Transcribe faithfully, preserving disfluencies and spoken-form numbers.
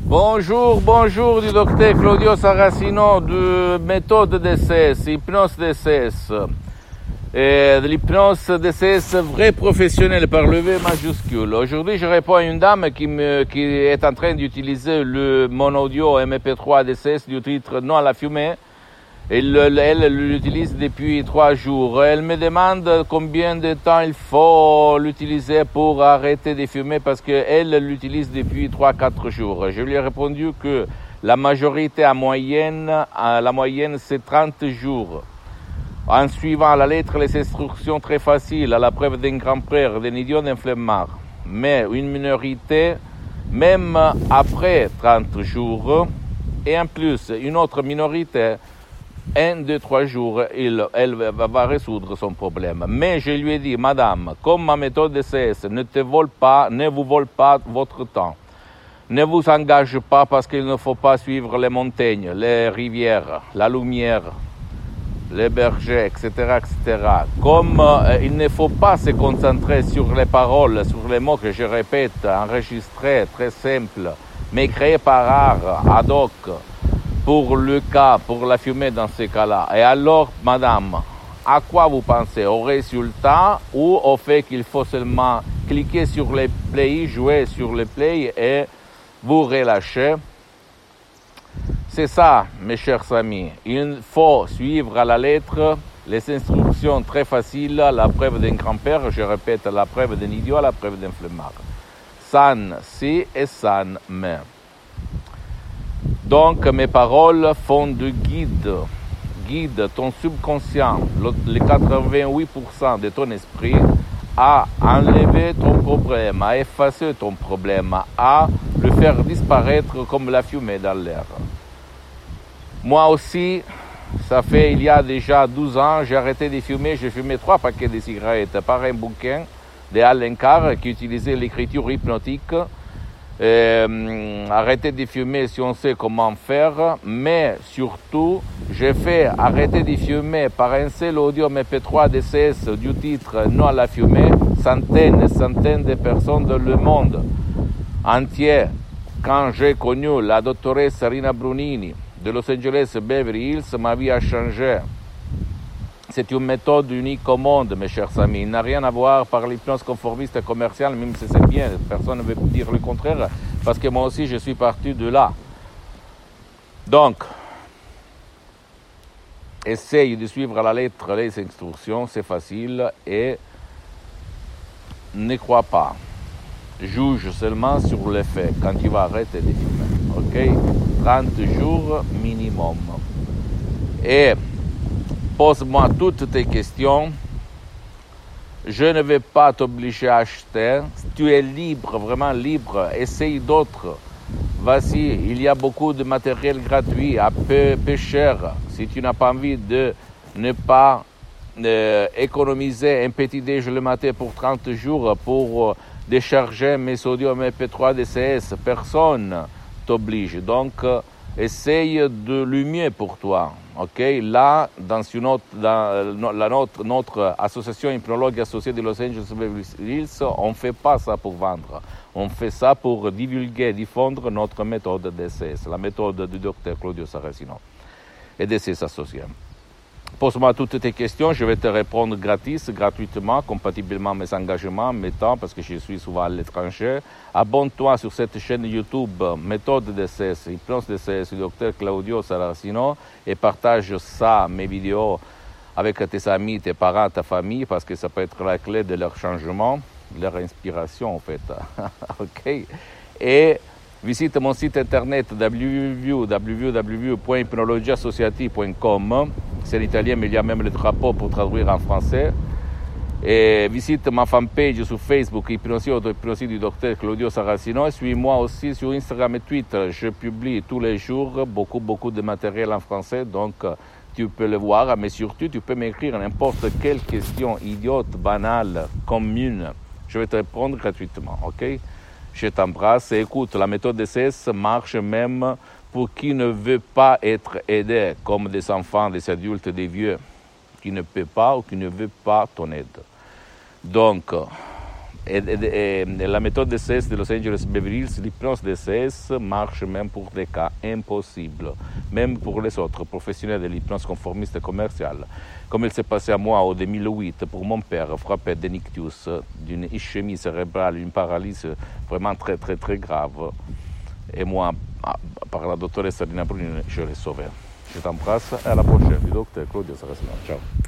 Bonjour, bonjour du docteur Claudio Saracino de méthode D C S, hypnose D C S. Et de l'hypnose D C S vrai professionnel par le V majuscule. Aujourd'hui, je réponds à une dame qui, me, qui est en train d'utiliser le mon audio M P trois D C S du titre Non à la fumée. Elle, elle l'utilise depuis trois jours. Elle me demande combien de temps il faut l'utiliser pour arrêter de fumer parce qu'elle l'utilise depuis trois à quatre jours. Je lui ai répondu que la majorité en moyenne, la moyenne c'est trente jours. En suivant à la lettre les instructions très faciles, à la preuve d'un grand-père, d'un idiot, d'un flemmard. Mais une minorité, même après trente jours, et en plus une autre minorité, un, deux, trois jours, il, elle va résoudre son problème. Mais je lui ai dit, madame, comme ma méthode D C S ne te vole pas, ne vous vole pas votre temps, ne vous engage pas parce qu'il ne faut pas suivre les montagnes, les rivières, la lumière, les bergers, et cetera, et cetera. Comme euh, il ne faut pas se concentrer sur les paroles, sur les mots que je répète, enregistrés, très simples, mais créés par art, ad hoc, pour le cas, pour la fumée dans ces cas-là. Et alors, madame, à quoi vous pensez? Au résultat ou au fait qu'il faut seulement cliquer sur les play, jouer sur les play et vous relâcher? C'est ça, mes chers amis. Il faut suivre à la lettre les instructions très faciles, la preuve d'un grand-père, je répète, la preuve d'un idiot, la preuve d'un flemmard. San si et san mais. Donc, mes paroles font de guide, guide ton subconscient, les quatre-vingt-huit pour cent de ton esprit, à enlever ton problème, à effacer ton problème, à le faire disparaître comme la fumée dans l'air. Moi aussi, ça fait il y a déjà douze ans, j'ai arrêté de fumer, j'ai fumé trois paquets de cigarettes par un bouquin de Allen Carr qui utilisait l'écriture hypnotique. Euh, arrêter de fumer si on sait comment faire, mais surtout, j'ai fait arrêter de fumer par un seul audio M P trois D C S du titre Non à la fumée, centaines et centaines de personnes dans le monde entier. Quand j'ai connu la doctoresse Rina Brunini de Los Angeles Beverly Hills, ma vie a changé. C'est une méthode unique au monde, mes chers amis. Il n'a rien à voir par l'hypnose conformiste et commerciale, même si c'est bien. Personne ne veut dire le contraire, parce que moi aussi, je suis parti de là. Donc, essaye de suivre à la lettre les instructions, c'est facile, et ne crois pas. Juge seulement sur les faits quand tu vas arrêter de fumer. Ok? trente jours minimum. Et pose-moi toutes tes questions. Je ne vais pas t'obliger à acheter. Tu es libre, vraiment libre. Essaye d'autres. Vas-y, il y a beaucoup de matériel gratuit, à peu, peu cher. Si tu n'as pas envie de ne pas euh, économiser un petit déj le matin pour trente jours pour euh, décharger mes audios M P trois D C S, personne t'oblige. Donc, euh, essaye de le mieux pour toi. Ok, là, dans, une autre, dans la notre, notre association hypnologue associée de Los Angeles Beverly Hills, on ne fait pas ça pour vendre. On fait ça pour divulguer, diffondre notre méthode D C S, la méthode du docteur Claudio Saracino et de ses associés. Pose-moi toutes tes questions, je vais te répondre gratis, gratuitement, compatiblement à mes engagements, mes temps, parce que je suis souvent à l'étranger. Abonne-toi sur cette chaîne YouTube, méthode D C S, hypnose D C S, du docteur Claudio Saracino, et partage ça, mes vidéos, avec tes amis, tes parents, ta famille, parce que ça peut être la clé de leur changement, de leur inspiration, en fait. Ok? Et visite mon site internet w w w point hypnologie associative point com. C'est l'italien, mais il y a même le drapeau pour traduire en français. Et visite ma fanpage sur Facebook, Hypnosie Auto-Hypnosie du docteur Claudio Saracino. Et suis-moi aussi sur Instagram et Twitter. Je publie tous les jours beaucoup, beaucoup de matériel en français. Donc, tu peux le voir. Mais surtout, tu peux m'écrire n'importe quelle question idiote, banale, commune. Je vais te répondre gratuitement, ok? Je t'embrasse et écoute, la méthode D C S marche même pour qui ne veut pas être aidé, comme des enfants, des adultes, des vieux, qui ne peut pas ou qui ne veut pas ton aide. Donc, Et, et, et la méthode D C S de Los Angeles Beverly Hills, l'hypnose D C S marche même pour des cas impossibles, même pour les autres professionnels de l'hypnose conformiste et commerciale. Comme il s'est passé à moi en deux mille huit pour mon père, frappé d'un ictus, d'une ischémie cérébrale, une paralysie vraiment très très très grave. Et moi, par la doctoresse Rina Bruni, je l'ai sauvé. Je t'embrasse et à la prochaine. Du docteur Claudio Saracino. Ciao.